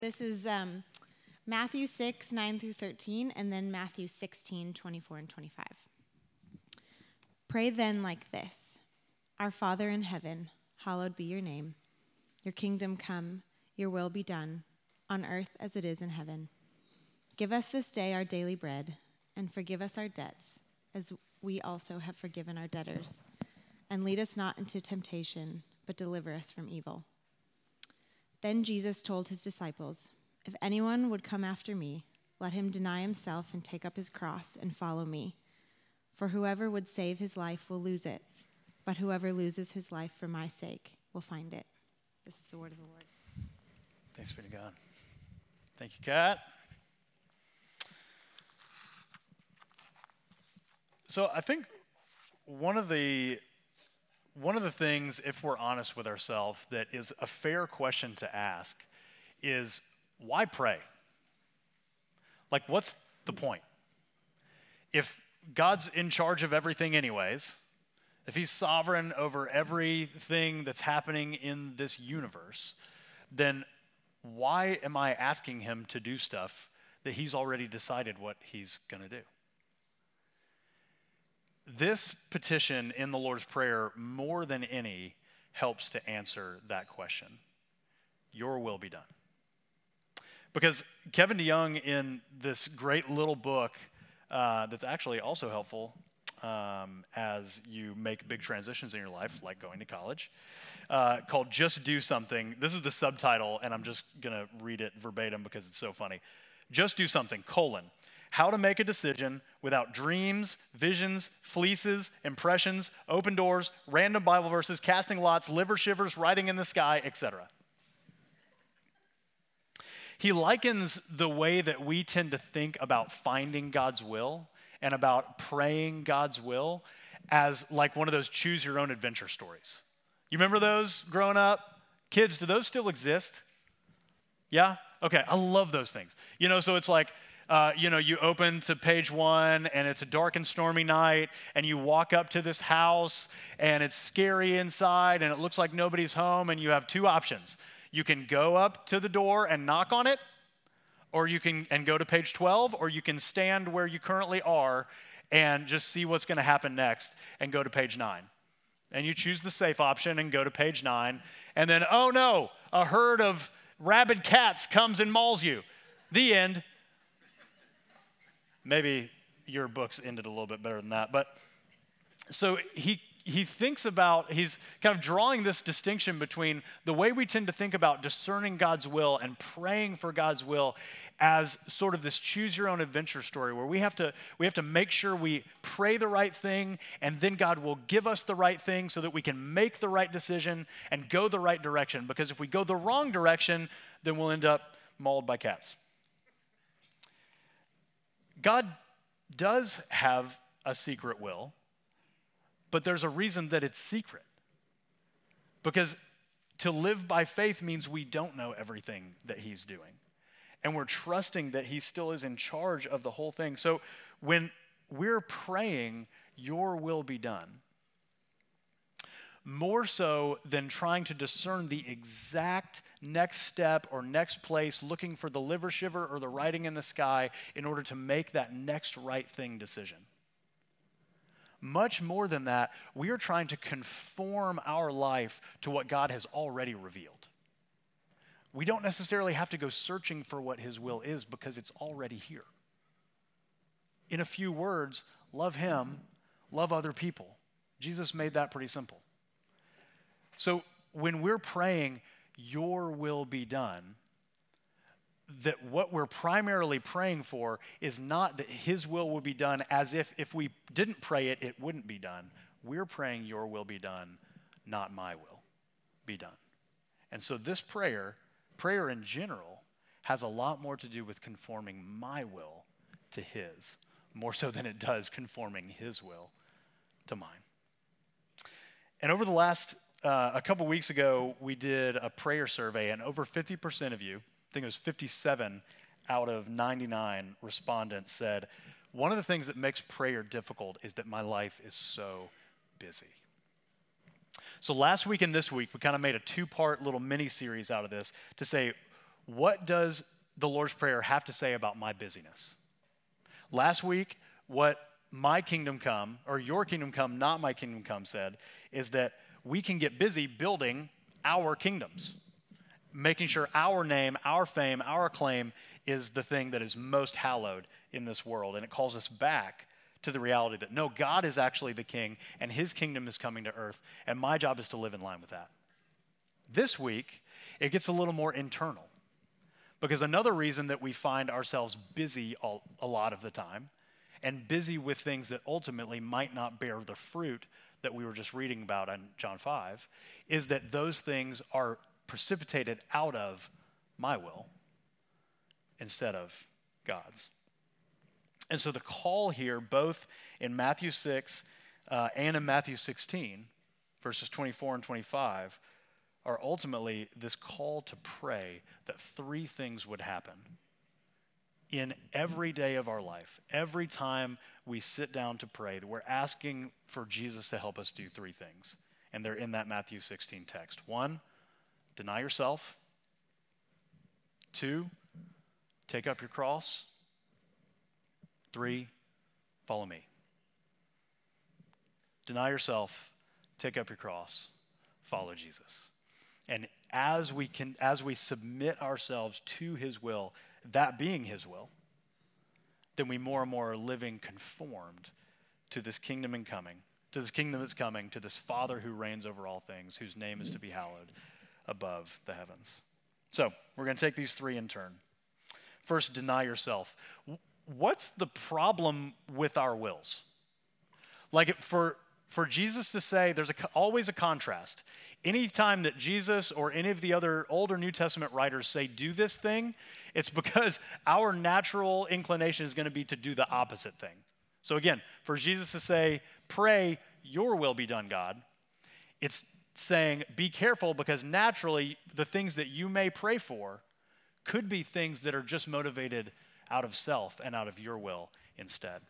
This is Matthew 6, 9 through 13, and then Matthew 16, 24 and 25. Pray then like this: Our Father in heaven, hallowed be your name. Your kingdom come, your will be done, on earth as it is in heaven. Give us this day our daily bread, and forgive us our debts, as we also have forgiven our debtors. And lead us not into temptation, but deliver us from evil. Then Jesus told his disciples, If anyone would come after me, let him deny himself and take up his cross and follow me. For whoever would save his life will lose it, but whoever loses his life for my sake will find it. This is the word of the Lord. Thanks be to God. Thank you, Kat. So I think one of the things, if we're honest with ourselves, that is a fair question to ask is, why pray? Like, what's the point? If God's in charge of everything anyways, if he's sovereign over everything that's happening in this universe, then why am I asking him to do stuff that he's already decided what he's going to do? This petition in the Lord's Prayer, more than any, helps to answer that question. Your will be done. Because Kevin DeYoung, in this great little book that's actually also helpful as you make big transitions in your life, like going to college, called Just Do Something. This is the subtitle, and I'm just going to read it verbatim because it's so funny. Just do something, : how to make a decision without dreams, visions, fleeces, impressions, open doors, random Bible verses, casting lots, liver shivers, writing in the sky, etc. He likens the way that we tend to think about finding God's will and about praying God's will as like one of those choose your own adventure stories. You remember those growing up? Kids, do those still exist? Yeah? Okay, I love those things. So it's like, you open to page 1 and it's a dark and stormy night and you walk up to this house and it's scary inside and it looks like nobody's home and you have two options. You can go up to the door and knock on it, or you can go to page 12, or you can stand where you currently are and just see what's going to happen next and go to page 9. And you choose the safe option and go to page 9, and then, oh no, a herd of rabid cats comes and mauls you. The end. Maybe your book's ended a little bit better than that. But so he thinks about, he's kind of drawing this distinction between the way we tend to think about discerning God's will and praying for God's will as sort of this choose your own adventure story where we have to make sure we pray the right thing and then God will give us the right thing so that we can make the right decision and go the right direction. Because if we go the wrong direction, then we'll end up mauled by cats. God does have a secret will, but there's a reason that it's secret. Because to live by faith means we don't know everything that he's doing. And we're trusting that he still is in charge of the whole thing. So when we're praying, your will be done, more so than trying to discern the exact next step or next place, looking for the liver shiver or the writing in the sky in order to make that next right thing decision. Much more than that, we are trying to conform our life to what God has already revealed. We don't necessarily have to go searching for what his will is because it's already here. In a few words, love him, love other people. Jesus made that pretty simple. So when we're praying, your will be done, that what we're primarily praying for is not that his will be done as if we didn't pray it, it wouldn't be done. We're praying your will be done, not my will be done. And so this prayer in general, has a lot more to do with conforming my will to his, more so than it does conforming his will to mine. And over the last a couple weeks ago, we did a prayer survey, and over 50% of you, I think it was 57 out of 99 respondents said, one of the things that makes prayer difficult is that my life is so busy. So last week and this week, we kind of made a two-part little mini-series out of this to say, what does the Lord's Prayer have to say about my busyness? Last week, what my kingdom come, or your kingdom come, not my kingdom come, said, is that we can get busy building our kingdoms, making sure our name, our fame, our acclaim is the thing that is most hallowed in this world. And it calls us back to the reality that no, God is actually the king and his kingdom is coming to earth, and my job is to live in line with that. This week, it gets a little more internal, because another reason that we find ourselves busy a lot of the time, and busy with things that ultimately might not bear the fruit that we were just reading about in John 5, is that those things are precipitated out of my will instead of God's. And so the call here, both in Matthew 6 and in Matthew 16, verses 24 and 25, are ultimately this call to pray that three things would happen in every day of our life. Every time we sit down to pray, that we're asking for Jesus to help us do three things. And they're in that Matthew 16 text. 1, deny yourself. 2, take up your cross. 3, follow me. Deny yourself, take up your cross, follow Jesus. And as we submit ourselves to his will, that being his will, then we more and more are living conformed to this kingdom incoming, to this kingdom that's coming, to this Father who reigns over all things, whose name is to be hallowed above the heavens. So we're going to take these three in turn. First, deny yourself. What's the problem with our wills? Like for Jesus to say, there's always a contrast. Anytime that Jesus or any of the other Old or New Testament writers say do this thing, it's because our natural inclination is going to be to do the opposite thing. So again, for Jesus to say, pray, your will be done, God, it's saying be careful, because naturally the things that you may pray for could be things that are just motivated out of self and out of your will instead.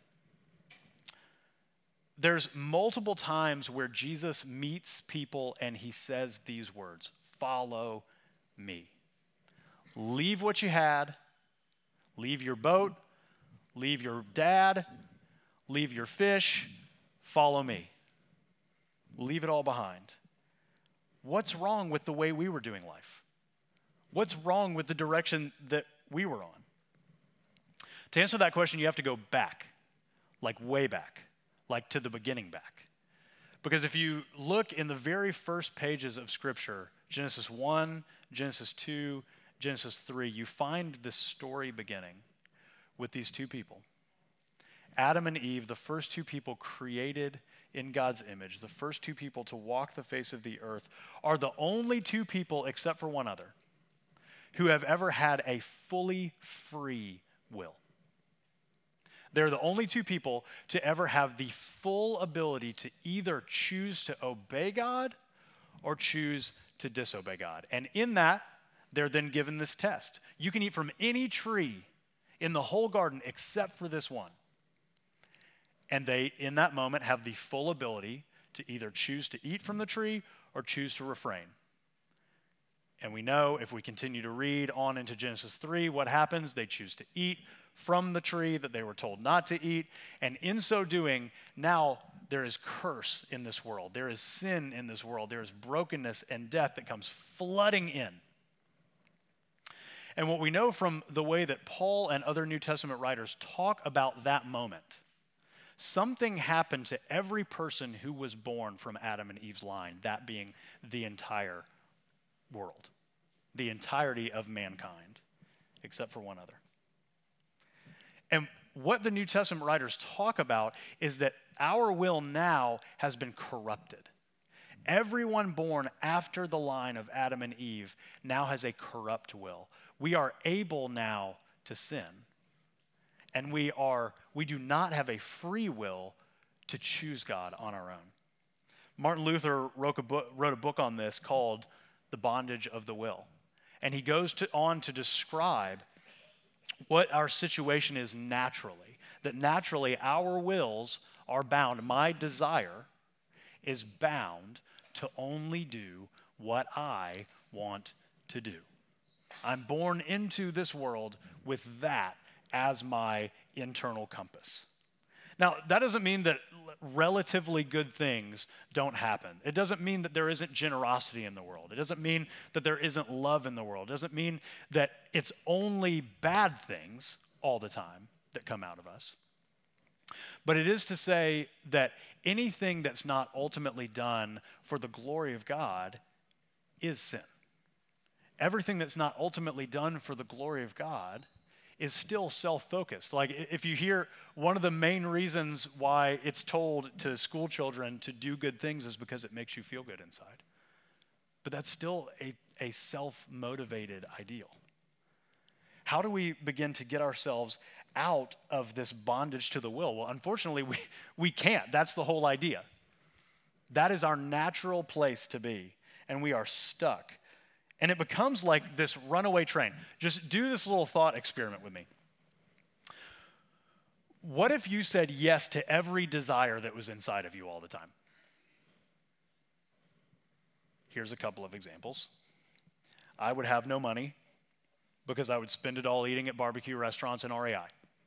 There's multiple times where Jesus meets people and he says these words, follow me. Leave what you had, leave your boat, leave your dad, leave your fish, follow me. Leave it all behind. What's wrong with the way we were doing life? What's wrong with the direction that we were on? To answer that question, you have to go back, like way back, like to the beginning back. Because if you look in the very first pages of Scripture, Genesis 1, Genesis 2, Genesis 3, you find this story beginning with these two people. Adam and Eve, the first two people created in God's image, the first two people to walk the face of the earth, are the only two people, except for one other, who have ever had a fully free will. They're the only two people to ever have the full ability to either choose to obey God or choose to disobey God. And in that, they're then given this test. You can eat from any tree in the whole garden except for this one. And they, in that moment, have the full ability to either choose to eat from the tree or choose to refrain. And we know if we continue to read on into Genesis 3, what happens? They choose to eat from the tree that they were told not to eat. And in so doing, now there is curse in this world. There is sin in this world. There is brokenness and death that comes flooding in. And what we know from the way that Paul and other New Testament writers talk about that moment, something happened to every person who was born from Adam and Eve's line, that being the entire world, the entirety of mankind, except for one other. And what the New Testament writers talk about is that our will now has been corrupted. Everyone born after the line of Adam and Eve now has a corrupt will. We are able now to sin. And we do not have a free will to choose God on our own. Martin Luther wrote a book on this called The Bondage of the Will. And he goes on to describe what our situation is naturally. That naturally our wills are bound. My desire is bound to only do what I want to do. I'm born into this world with that as my internal compass. Now, that doesn't mean that relatively good things don't happen. It doesn't mean that there isn't generosity in the world. It doesn't mean that there isn't love in the world. It doesn't mean that it's only bad things all the time that come out of us. But it is to say that anything that's not ultimately done for the glory of God is sin. Everything that's not ultimately done for the glory of God is still self-focused. Like if you hear one of the main reasons why it's told to school children to do good things is because it makes you feel good inside. But that's still a self-motivated ideal. How do we begin to get ourselves out of this bondage to the will? Well, unfortunately, we can't. That's the whole idea. That is our natural place to be, and we are stuck. And it becomes like this runaway train. Just do this little thought experiment with me. What if you said yes to every desire that was inside of you all the time? Here's a couple of examples. I would have no money because I would spend it all eating at barbecue restaurants and REI.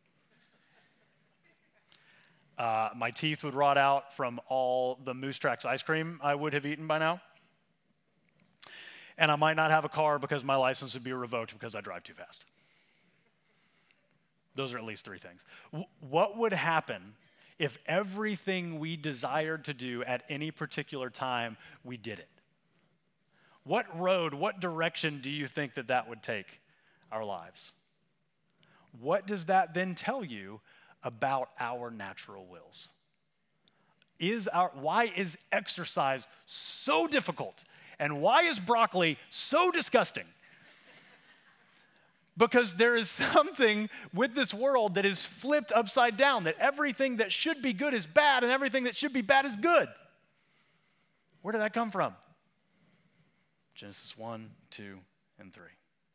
My teeth would rot out from all the Moose Tracks ice cream I would have eaten by now. And I might not have a car because my license would be revoked because I drive too fast. Those are at least three things. What would happen if everything we desired to do at any particular time, we did it? What road, what direction do you think that would take our lives? What does that then tell you about our natural wills? Why is exercise so difficult? And why is broccoli so disgusting? Because there is something with this world that is flipped upside down, that everything that should be good is bad and everything that should be bad is good. Where did that come from? Genesis 1, 2, and 3.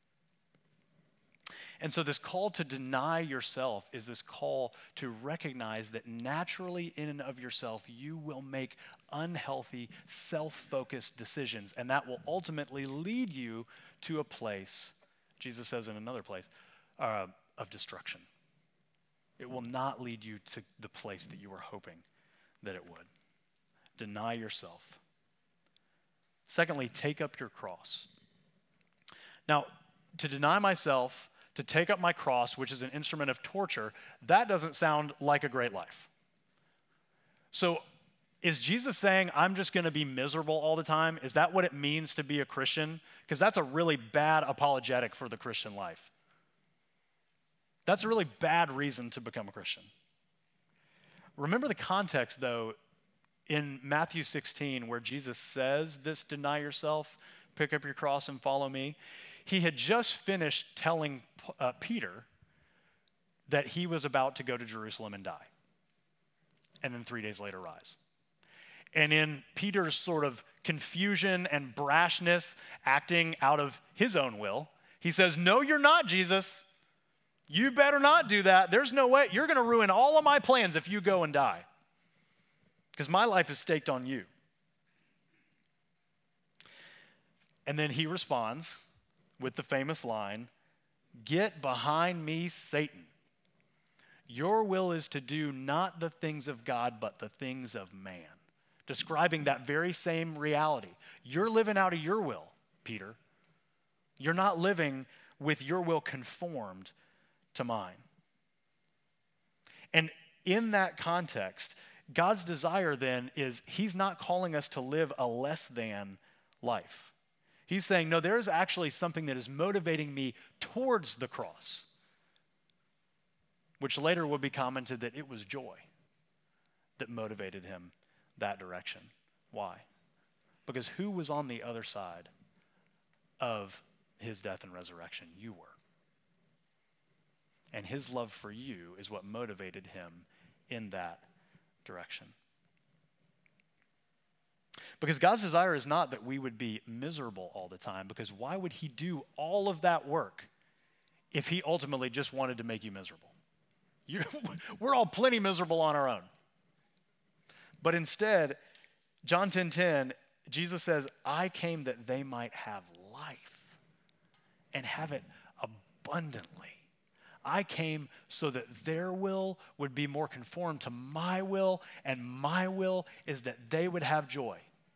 And so this call to deny yourself is this call to recognize that naturally in and of yourself, you will make unhealthy, self-focused decisions. And that will ultimately lead you to a place, Jesus says in another place, of destruction. It will not lead you to the place that you were hoping that it would. Deny yourself. Secondly, take up your cross. Now, to deny myself, to take up my cross, which is an instrument of torture, that doesn't sound like a great life. So is Jesus saying I'm just going to be miserable all the time? Is that what it means to be a Christian? Because that's a really bad apologetic for the Christian life. That's a really bad reason to become a Christian. Remember the context, though, in Matthew 16, where Jesus says this, deny yourself, pick up your cross and follow me. He had just finished telling Peter that he was about to go to Jerusalem and die, and then 3 days later rise. And in Peter's sort of confusion and brashness, acting out of his own will, he says, "No, you're not, Jesus. You better not do that. There's no way. You're going to ruin all of my plans if you go and die, because my life is staked on you." And then he responds with the famous line, "Get behind me, Satan. Your will is to do not the things of God, but the things of man." Describing that very same reality. You're living out of your will, Peter. You're not living with your will conformed to mine. And in that context, God's desire then is he's not calling us to live a less than life. He's saying, no, there is actually something that is motivating me towards the cross, which later would be commented that it was joy that motivated him that direction. Why? Because who was on the other side of his death and resurrection? You were. And his love for you is what motivated him in that direction. Because God's desire is not that we would be miserable all the time, because why would he do all of that work if he ultimately just wanted to make you miserable? We're all plenty miserable on our own. But instead, John 10:10, Jesus says, "I came that they might have life and have it abundantly. I came so that their will would be more conformed to my will, and my will is that they would have joy.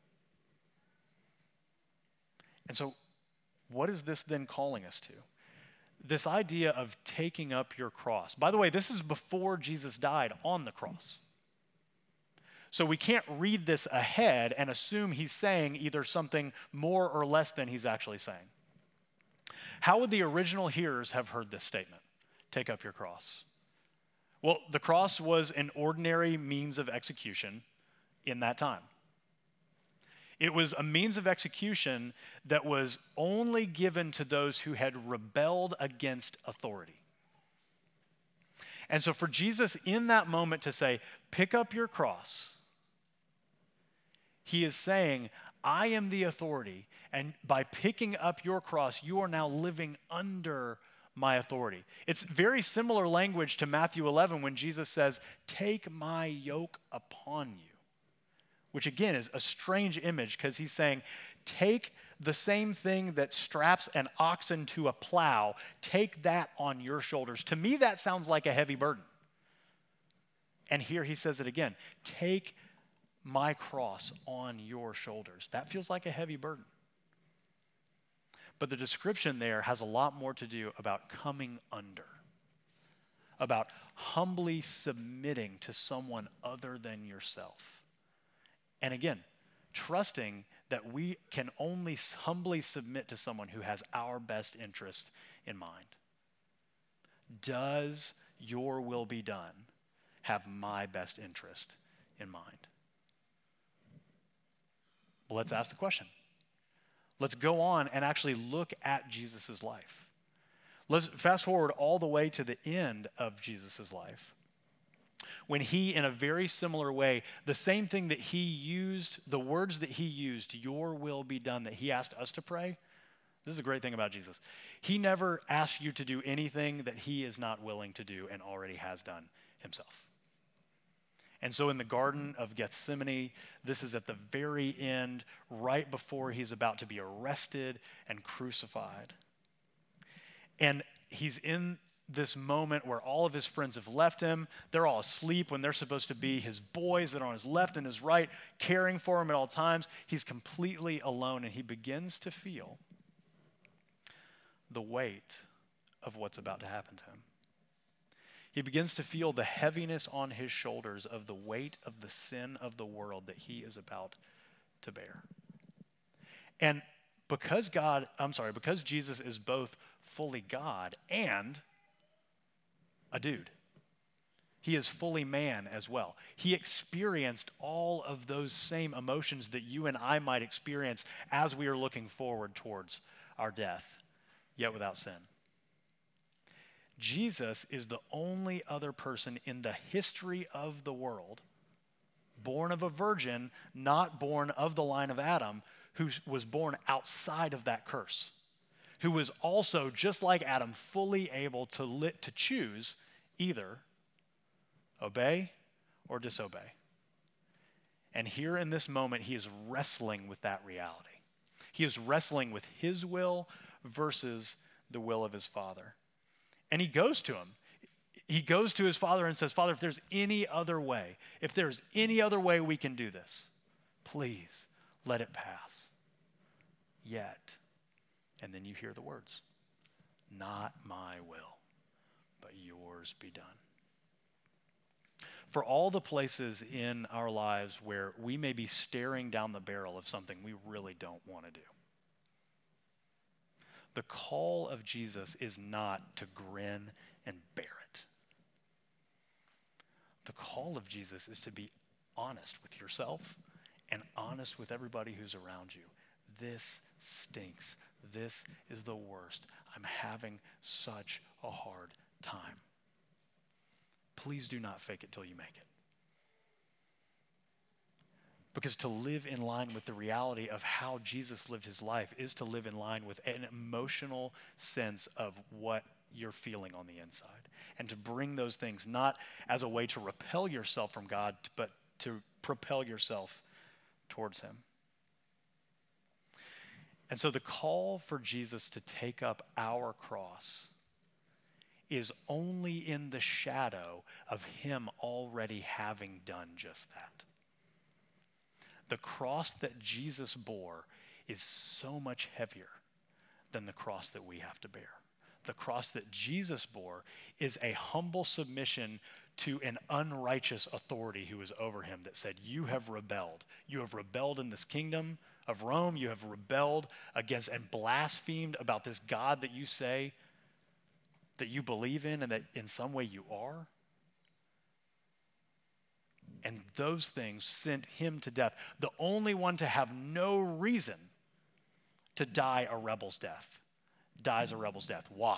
And so, what is this then calling us to? This idea of taking up your cross. By the way, this is before Jesus died on the cross. So we can't read this ahead and assume he's saying either something more or less than he's actually saying. How would the original hearers have heard this statement? Take up your cross. Well, the cross was an ordinary means of execution in that time. It was a means of execution that was only given to those who had rebelled against authority. And so for Jesus in that moment to say, pick up your cross, he is saying, I am the authority, and by picking up your cross, you are now living under my authority. It's very similar language to Matthew 11 when Jesus says, take my yoke upon you. Which again is a strange image because he's saying, take the same thing that straps an oxen to a plow, take that on your shoulders. To me, that sounds like a heavy burden. And here he says it again, take my cross on your shoulders. That feels like a heavy burden. But the description there has a lot more to do about coming under, about humbly submitting to someone other than yourself. And again, trusting that we can only humbly submit to someone who has our best interest in mind. Does your will be done have my best interest in mind? Well, let's ask the question. Let's go on and actually look at Jesus' life. Let's fast forward all the way to the end of Jesus' life, when he, in a very similar way, the same thing that he used, the words that he used, your will be done, that he asked us to pray. This is a great thing about Jesus. He never asks you to do anything that he is not willing to do and already has done himself. And so in the Garden of Gethsemane, this is at the very end, right before he's about to be arrested and crucified. And he's in this moment where all of his friends have left him. They're all asleep when they're supposed to be his boys that are on his left and his right, caring for him at all times. He's completely alone, and he begins to feel the weight of what's about to happen to him. He begins to feel the heaviness on his shoulders of the weight of the sin of the world that he is about to bear. And because Jesus is both fully God and a dude, he is fully man as well. He experienced all of those same emotions that you and I might experience as we are looking forward towards our death, yet without sin. Jesus is the only other person in the history of the world, born of a virgin, not born of the line of Adam, who was born outside of that curse, who was also, just like Adam, fully able to choose either obey or disobey. And here in this moment, he is wrestling with that reality. He is wrestling with his will versus the will of his Father. And he goes to him. He goes to his Father and says, Father, if there's any other way we can do this, please let it pass. Yet, and then you hear the words, not my will, but yours be done. For all the places in our lives where we may be staring down the barrel of something we really don't want to do, the call of Jesus is not to grin and bear it. The call of Jesus is to be honest with yourself and honest with everybody who's around you. This stinks. This is the worst. I'm having such a hard time. Please do not fake it till you make it. Because to live in line with the reality of how Jesus lived his life is to live in line with an emotional sense of what you're feeling on the inside. And to bring those things not as a way to repel yourself from God, but to propel yourself towards him. And so the call for Jesus to take up our cross is only in the shadow of him already having done just that. The cross that Jesus bore is so much heavier than the cross that we have to bear. The cross that Jesus bore is a humble submission to an unrighteous authority who was over him that said, you have rebelled. You have rebelled in this kingdom of Rome. You have rebelled against and blasphemed about this God that you say that you believe in and that in some way you are. And those things sent him to death. The only one to have no reason to die a rebel's death dies a rebel's death. Why?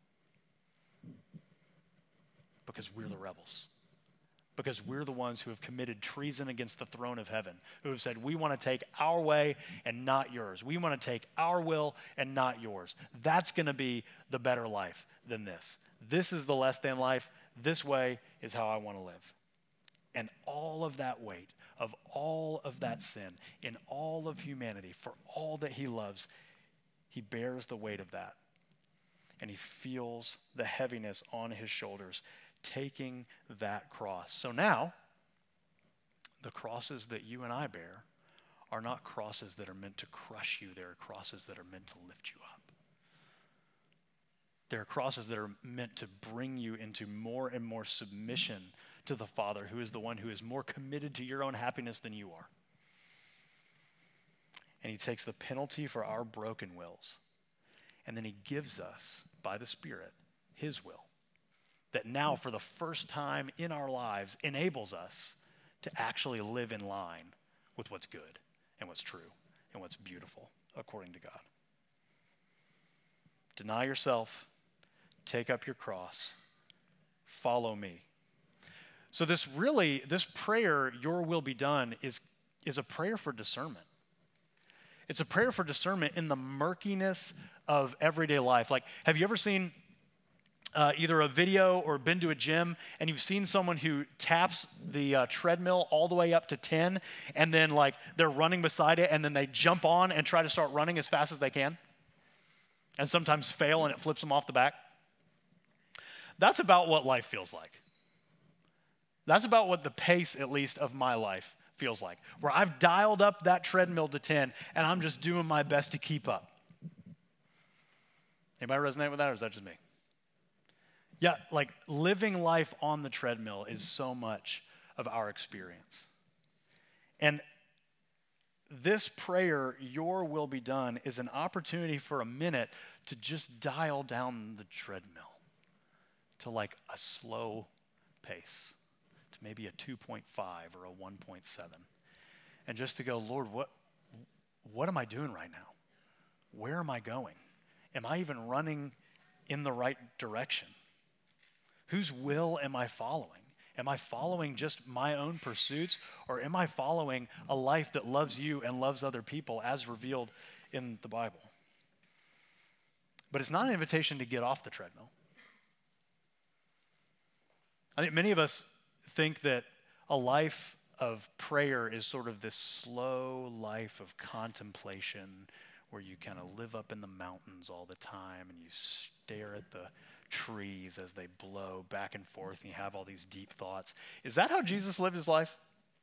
Because we're the rebels. Because we're the ones who have committed treason against the throne of heaven, who have said, we want to take our way and not yours. We want to take our will and not yours. That's going to be the better life than this. This is the less than life. This way is how I want to live. And all of that weight of all of that sin in all of humanity, for all that he loves, he bears the weight of that. And he feels the heaviness on his shoulders, taking that cross. So now, the crosses that you and I bear are not crosses that are meant to crush you. They're crosses that are meant to lift you up. They're crosses that are meant to bring you into more and more submission to the Father, who is the one who is more committed to your own happiness than you are. And he takes the penalty for our broken wills. And then he gives us, by the Spirit, his will. That now, for the first time in our lives, enables us to actually live in line with what's good and what's true and what's beautiful according to God. Deny yourself, take up your cross, follow me. So this prayer, your will be done, is a prayer for discernment. It's a prayer for discernment in the murkiness of everyday life. Like, have you ever seen either a video or been to a gym and you've seen someone who taps the treadmill all the way up to 10 and then like they're running beside it and then they jump on and try to start running as fast as they can and sometimes fail and it flips them off the back? That's about what life feels like. That's about what the pace, at least, of my life feels like, where I've dialed up that treadmill to 10 and I'm just doing my best to keep up. Anybody resonate with that, or is that just me? Yeah, like living life on the treadmill is so much of our experience. And this prayer, your will be done, is an opportunity for a minute to just dial down the treadmill to like a slow pace, to maybe a 2.5 or a 1.7. And just to go, Lord, what am I doing right now? Where am I going? Am I even running in the right direction? Whose will am I following? Am I following just my own pursuits, or am I following a life that loves you and loves other people as revealed in the Bible? But it's not an invitation to get off the treadmill. I think many of us think that a life of prayer is sort of this slow life of contemplation where you kind of live up in the mountains all the time and you stare at the trees as they blow back and forth and you have all these deep thoughts. Is that how Jesus lived his life?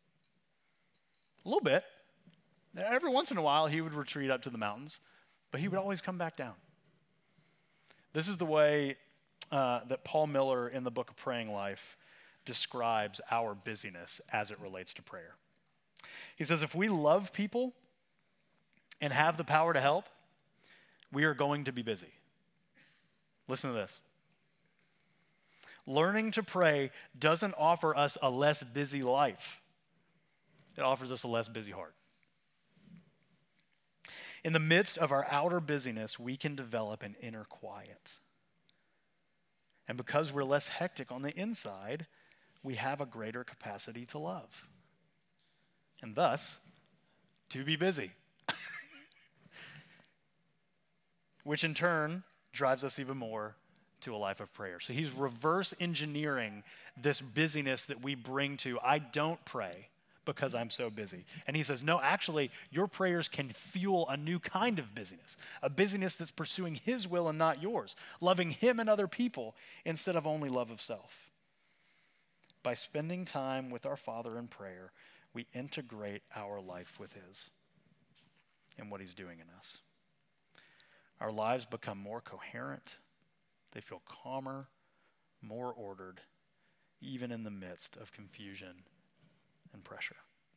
A little bit. Every once in a while he would retreat up to the mountains, but he would always come back down. This is the way that Paul Miller in the book of Praying Life describes our busyness as it relates to prayer. He says, if we love people and have the power to help, we are going to be busy. Listen to this. Learning to pray doesn't offer us a less busy life. It offers us a less busy heart. In the midst of our outer busyness, we can develop an inner quiet. And because we're less hectic on the inside, we have a greater capacity to love. And thus, to be busy. Which in turn drives us even more to a life of prayer. So he's reverse engineering this busyness that we bring to, I don't pray because I'm so busy. And he says, no, actually, your prayers can fuel a new kind of busyness, a busyness that's pursuing his will and not yours, loving him and other people instead of only love of self. By spending time with our Father in prayer, we integrate our life with his and what he's doing in us. Our lives become more coherent. They feel calmer, more ordered, even in the midst of confusion and pressure.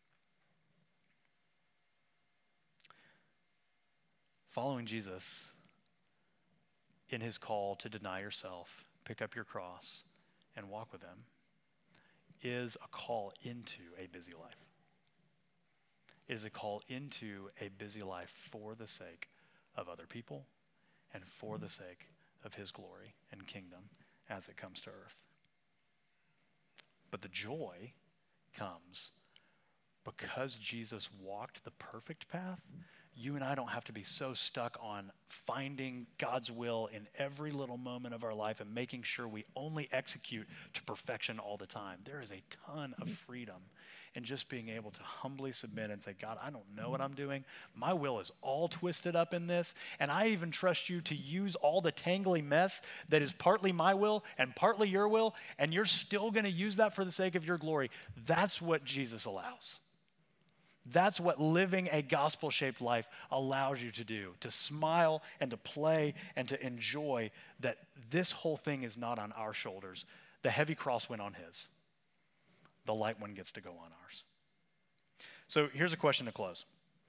Following Jesus in his call to deny yourself, pick up your cross, and walk with him is a call into a busy life. It is a call into a busy life for the sake of other people and for the sake of his glory and kingdom as it comes to earth. But the joy comes because Jesus walked the perfect path. You and I don't have to be so stuck on finding God's will in every little moment of our life and making sure we only execute to perfection all the time. There is a ton of freedom in just being able to humbly submit and say, God, I don't know what I'm doing. My will is all twisted up in this, and I even trust you to use all the tangly mess that is partly my will and partly your will, and you're still going to use that for the sake of your glory. That's what Jesus allows. That's what living a gospel-shaped life allows you to do, to smile and to play and to enjoy that this whole thing is not on our shoulders. The heavy cross went on his. The light one gets to go on ours. So here's a question to close.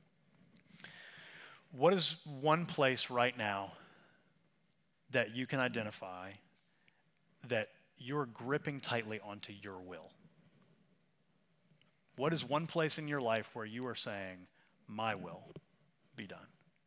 What is one place right now that you can identify that you're gripping tightly onto your will? What is one place in your life where you are saying, my will be done?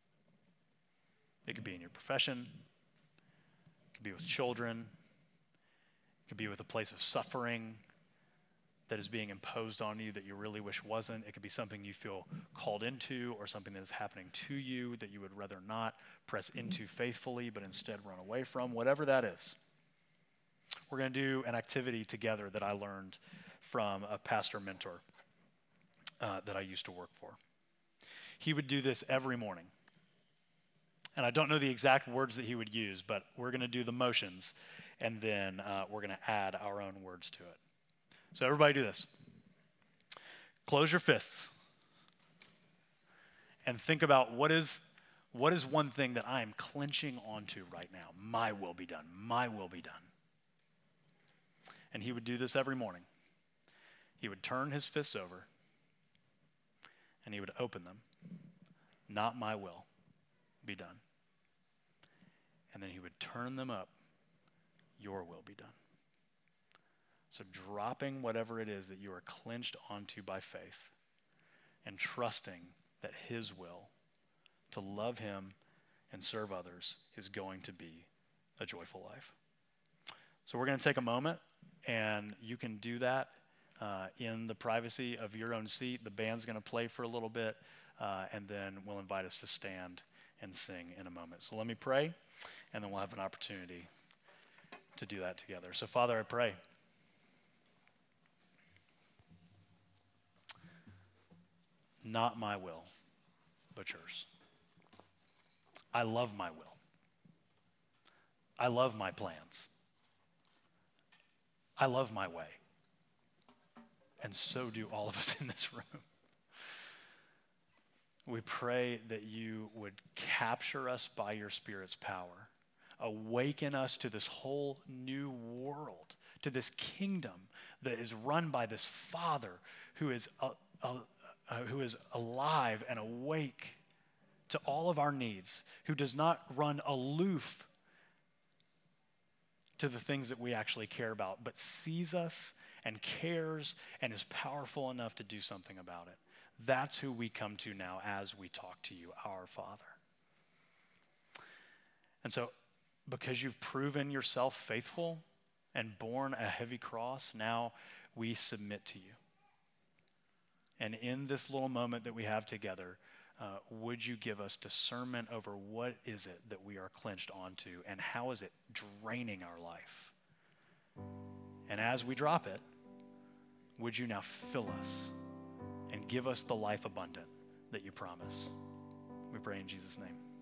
It could be in your profession. It could be with children. It could be with a place of suffering that is being imposed on you that you really wish wasn't. It could be something you feel called into or something that is happening to you that you would rather not press into faithfully but instead run away from, whatever that is. We're going to do an activity together that I learned from a pastor mentor that I used to work for. He would do this every morning. And I don't know the exact words that he would use, but we're going to do the motions, and then we're going to add our own words to it. So everybody do this. Close your fists and think about what is one thing that I am clenching onto right now. My will be done. My will be done. And he would do this every morning. He would turn his fists over and he would open them. Not my will be done. And then he would turn them up. Your will be done. So dropping whatever it is that you are clenched onto by faith and trusting that his will to love him and serve others is going to be a joyful life. So we're going to take a moment, and you can do that in the privacy of your own seat. The band's going to play for a little bit, and then we'll invite us to stand and sing in a moment. So let me pray, and then we'll have an opportunity to do that together. So Father, I pray. Not my will, but yours. I love my will. I love my plans. I love my way. And so do all of us in this room. We pray that you would capture us by your Spirit's power. Awaken us to this whole new world, to this kingdom that is run by this Father who is alive and awake to all of our needs, who does not run aloof to the things that we actually care about, but sees us and cares and is powerful enough to do something about it. That's who we come to now as we talk to you, our Father. And so, because you've proven yourself faithful and borne a heavy cross, now we submit to you. And in this little moment that we have together, would you give us discernment over what is it that we are clenched onto and how is it draining our life? And as we drop it, would you now fill us and give us the life abundant that you promise. We pray in Jesus' name.